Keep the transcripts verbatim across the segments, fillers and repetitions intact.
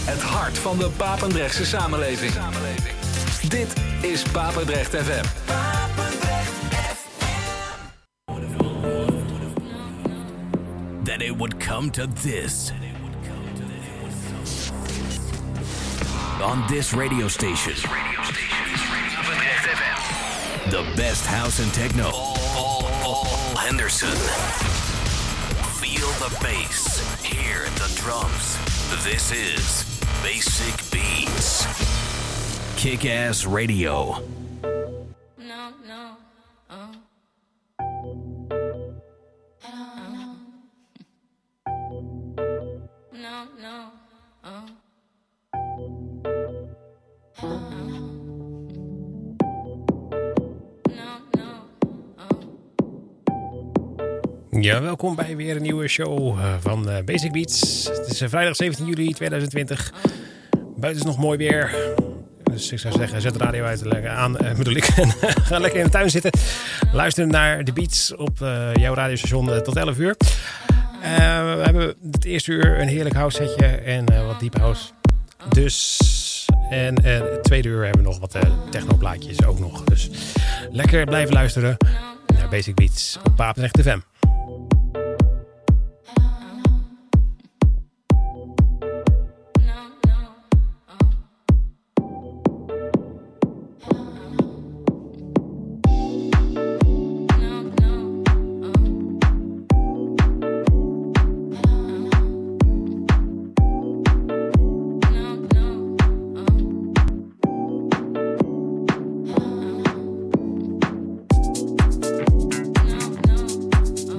Het hart van de Papendrechtse samenleving. Dit is Papendrecht F M. Papendrecht F M. That it would come to this. On this radio station. The best house and techno. Paul, Paul Henderson. Feel the bass. Hear the drums. This is Basic Beats. Kick-Ass Radio. No, no, oh. No, no, oh. Ja, welkom bij weer een nieuwe show van uh, Basic Beats. Het is uh, vrijdag zeventien juli tweeduizend twintig. Buiten is nog mooi weer. Dus ik zou zeggen, zet de radio uit en aan, uh, bedoel ik. En ga lekker in de tuin zitten. Luister naar de beats op uh, jouw radiostation uh, tot elf uur. Uh, we hebben het eerste uur een heerlijk house setje en uh, wat deep house. Dus... En uh, het tweede uur hebben we nog wat uh, technoplaatjes ook nog. Dus lekker blijven luisteren naar Basic Beats op Papendrecht F M. No, no,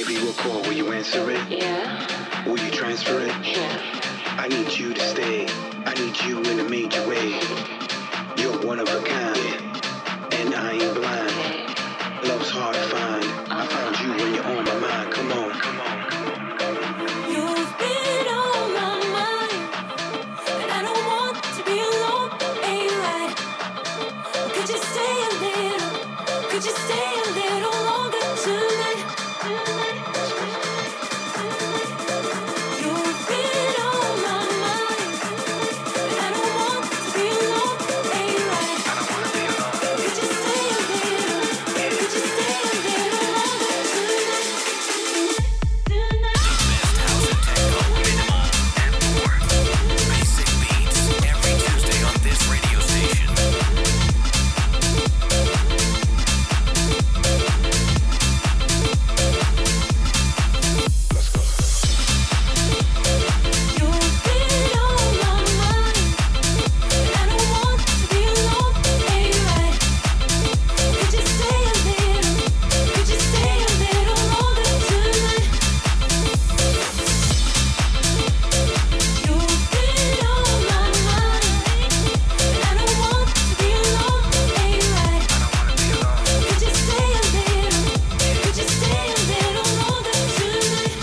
give you a call, will you answer it? Yeah. Will you transfer it? Yeah. I need you to stay. I need you in a major way. You're one of a kind, and I ain't blind. Love's hard to find. I found you when you're on my mind. Come on, come on, come on, come on. You've been on my mind, and I don't want to be alone. Ain't right. Could you stay a little? Could you stay a little longer tonight? You've been on my mind, and I don't want to be alone. Ain't right. I don't wanna be alone. Could you stay a little? Could you stay a little longer tonight? Tonight. Best house and techno, minimal, and more. Basic beats every Tuesday on this radio station. Let's go. You've been on my mind, and I don't want to be alone. Ain't right. Could you stay a little? Could you stay a little longer tonight? You've been on my mind, and I don't want to be alone. Ain't right. I don't wanna be alone. Could you stay a little? Could you stay a little longer tonight?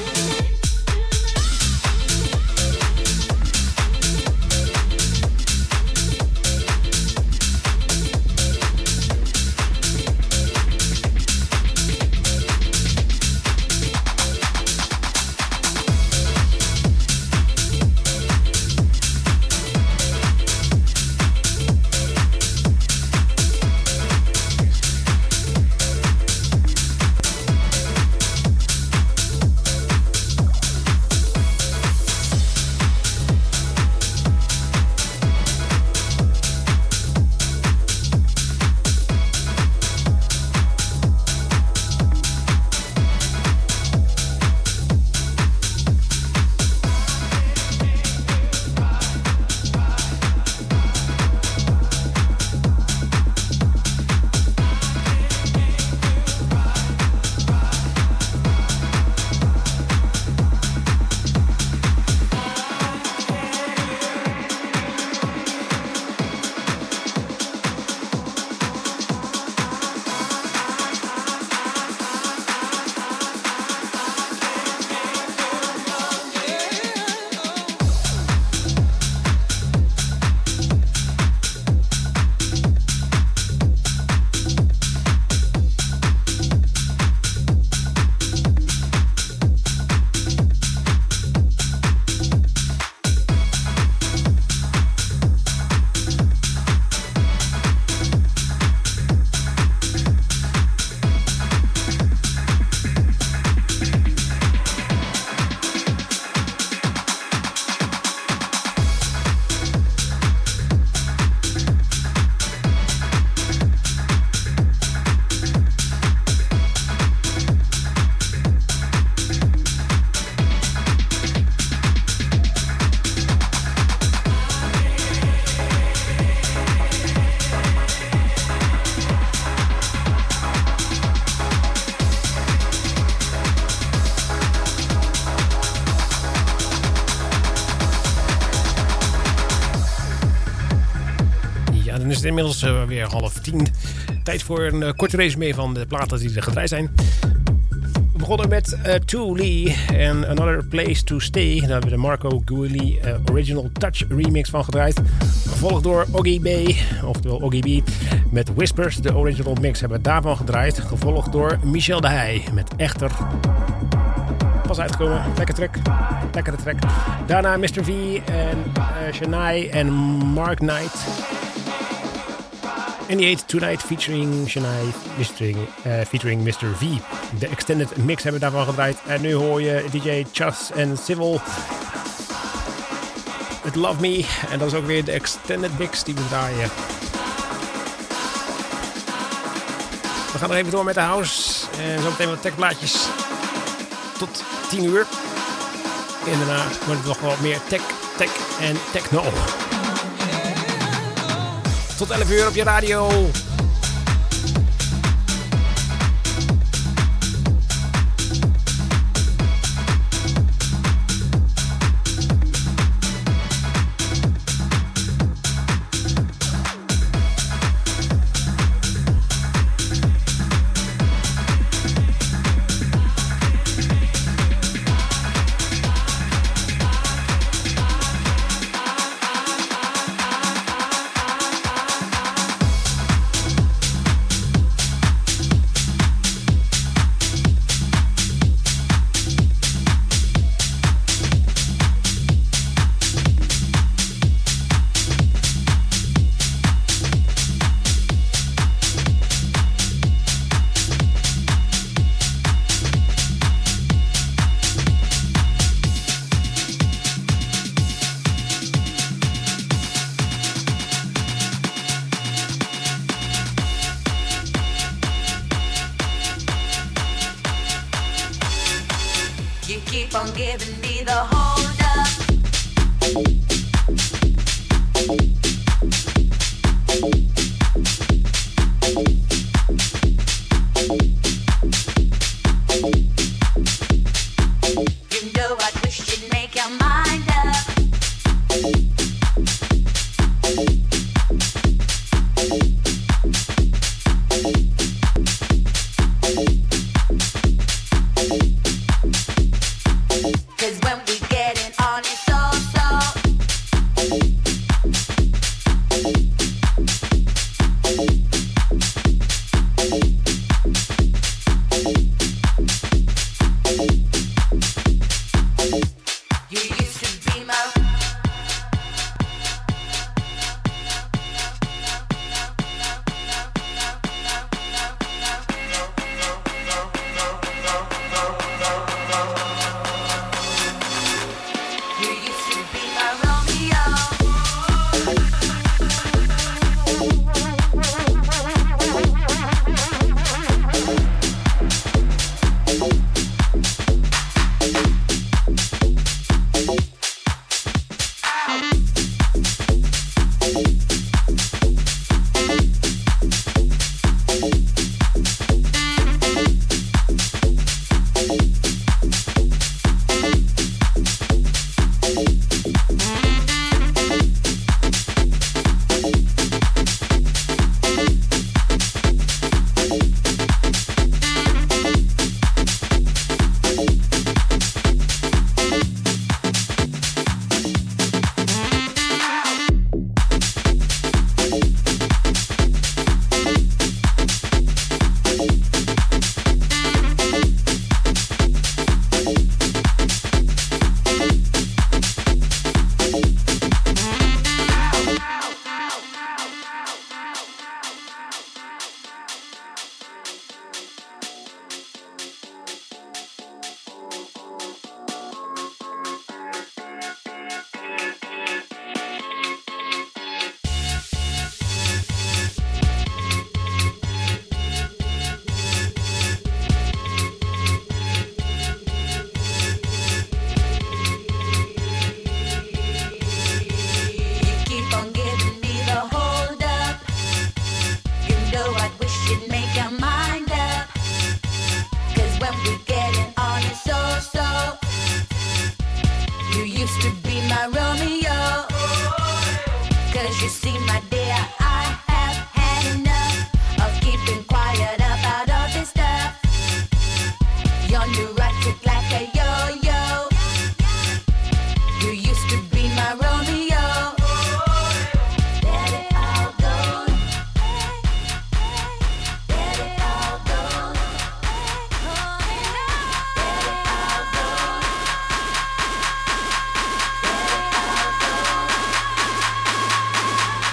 Dan is het inmiddels uh, weer half tien. Tijd voor een uh, korte resume van de platen die er gedraaid zijn. We begonnen met uh, To Lee en Another Place to Stay. Daar hebben we de Marco Guilly uh, Original Touch remix van gedraaid. Gevolgd door Oggy B, oftewel Oggy B, met Whispers. De original mix hebben we daarvan gedraaid. Gevolgd door Michel de Heij met Echter. Pas uitgekomen, lekker track. Lekkere track. Daarna mister V en uh, Shania en Mark Knight. En die heet Tonight featuring Shania featuring, uh, featuring mister V. De extended mix hebben we daarvan gedraaid. En nu hoor je D J Chas en Civil met Love Me. En dat is ook weer de extended mix die we draaien. We gaan nog even door met de house. En zo meteen wat techplaatjes. Tot tien uur. En daarna wordt het nog wat meer tech, tech en techno. Tot elf uur op je radio. on giving me the hold up. You know I wish you'd make your mind up. Cause when we get it on, it's so so. You used to be my. You used to be my Romeo. You keep on giving me the hold up. You know I wish you'd make your mind up. Cause when we get it on, it's so so. You used to be my Romeo. Cause you see, my dear, I have had enough of keeping quiet about all this stuff. You're neurotic like a yo-yo. You used to be my Romeo. Let it all go. Let it all go. Let it all go. Let it all go.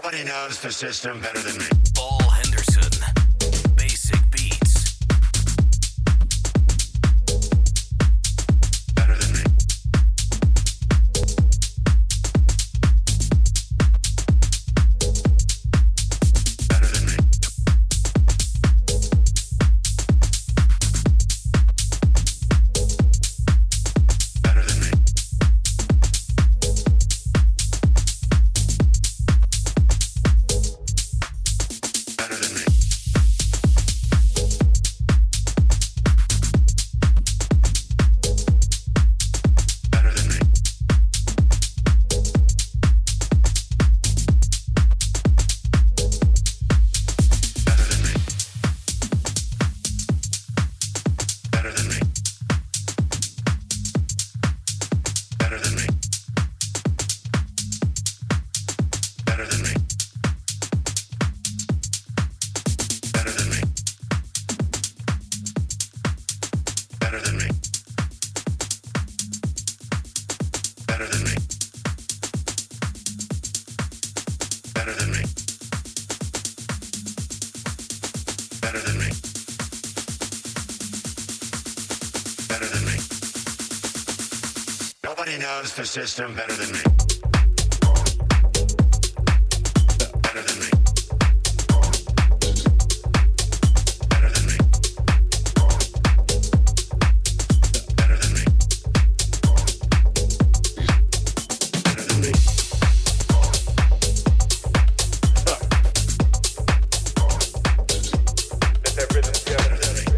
Nobody knows the system better than me. Paul Henderson. Basic Beats. Better than me. Better than me. Better than me. Better than me. Better than me. Better than me. Better than me. Better than me. Better than me. Better than me. Better than me. Better than me. Better than me. Better than me. Better than me. Nobody knows the system better than me. Better than me. Better than me. Better than me. Better than me. Let that rhythm go. Better than me.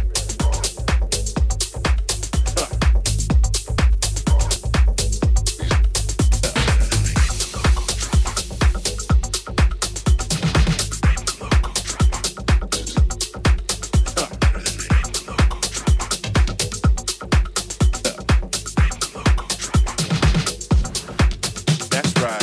That's right.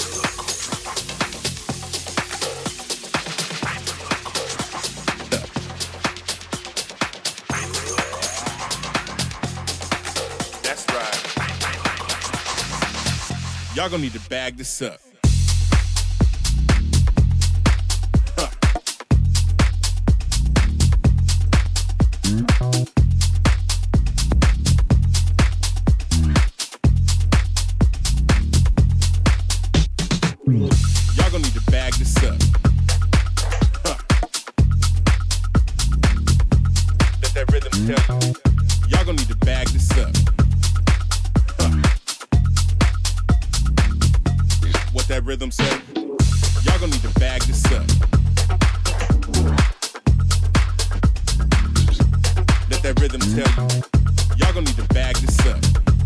That's right. Y'all gonna need to bag this up. Huh. Y'all gonna need to bag this up. Huh. Let that rhythm tell you. Y'all gonna need to bag this up. Huh. What that rhythm say? Y'all gonna need to bag this up. Let that rhythm tell you. Y'all gonna need to bag this up.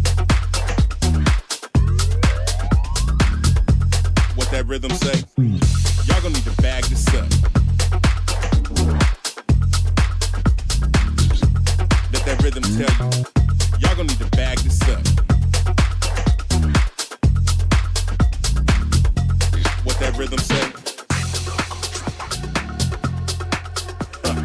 What that rhythm say? Y'all gonna need to bag this up. Let that rhythm tell you. Y'all gonna need to bag this up. What that rhythm say? Huh.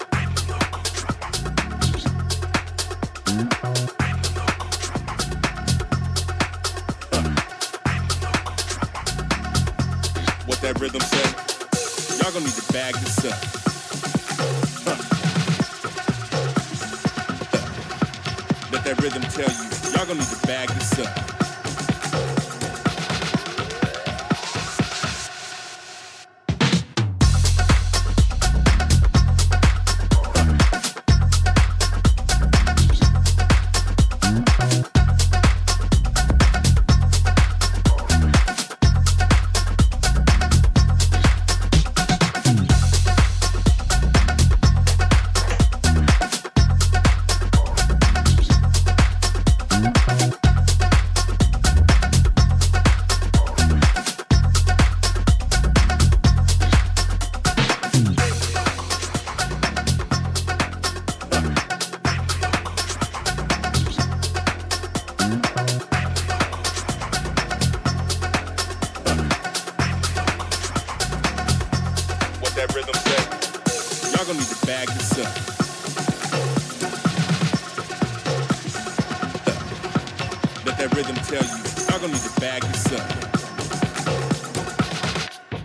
What that rhythm say? Y'all gonna need to bag this up. Huh. Huh. Let that rhythm tell you. Y'all gonna need to bag this up. That rhythm say, y'all gonna need to bag this up. Let that rhythm tell you, y'all gonna need to bag this up.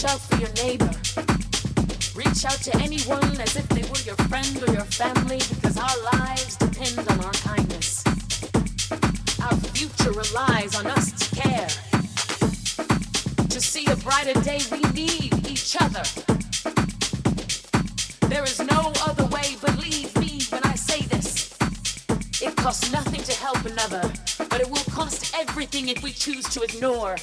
out for your neighbor. Reach out to anyone as if they were your friend or your family, because our lives depend on our kindness. Our future relies on us to care. To see a brighter day, we need each other. There is no other way, believe me when I say this. It costs nothing to help another, but it will cost everything if we choose to ignore.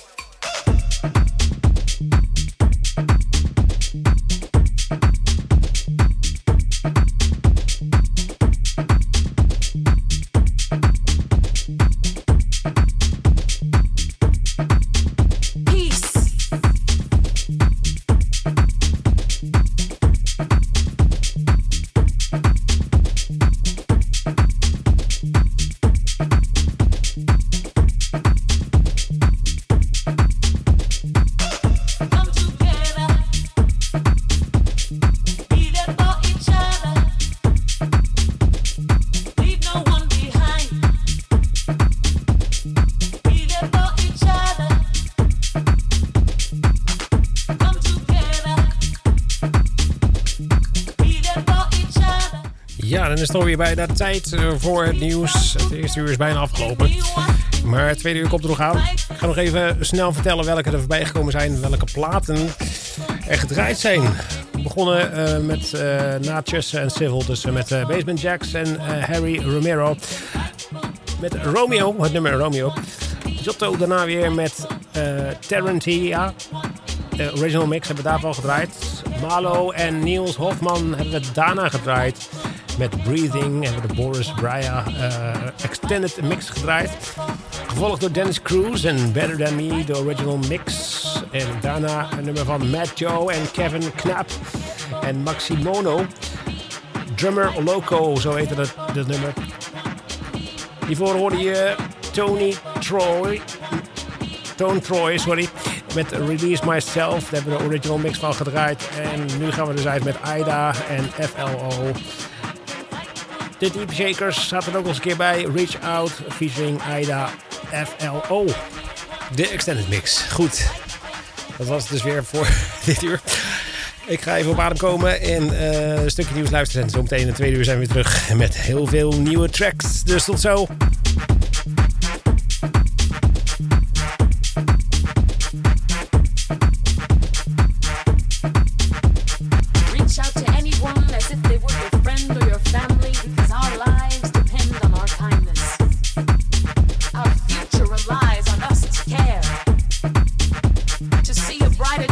Ja, dan is het alweer bijna tijd voor het nieuws. Het eerste uur is bijna afgelopen. Maar het tweede uur komt er nog aan. Ik ga nog even snel vertellen welke er voorbij gekomen zijn. Welke platen er gedraaid zijn. We begonnen uh, met uh, Natchez en Civil. Dus uh, met uh, Basement Jaxx en uh, Harry Romero. Met Romeo, het nummer Romeo. Giotto daarna weer met uh, Tarantia. De original mix hebben we daarvan al gedraaid. Malo en Niels Hofman hebben we daarna gedraaid. Met Breathing hebben we de Boris Brya uh, Extended Mix gedraaid. Gevolgd door Dennis Cruz en Better Than Me, de original mix. En daarna een nummer van Matt Joe en Kevin Knapp en Maximono. Drummer Loco, zo heette dat, dat nummer. Hiervoor hoorde je Tony Troy. Tone Troy, sorry. Met Release Myself, daar hebben we de original mix van gedraaid. En nu gaan we dus uit met Aida en F L O. De Deep Shakers zaten er ook nog eens een keer bij. Reach Out, featuring Aida F L O. De extended mix. Goed. Dat was het dus weer voor dit uur. Ik ga even op adem komen en uh, een stukje nieuws luisteren. En zometeen in de tweede uur zijn we weer terug met heel veel nieuwe tracks. Dus tot zo. Reach out to anyone as if they were your friend or your family, because our lives depend on our kindness. Our future relies on us to care. To see a brighter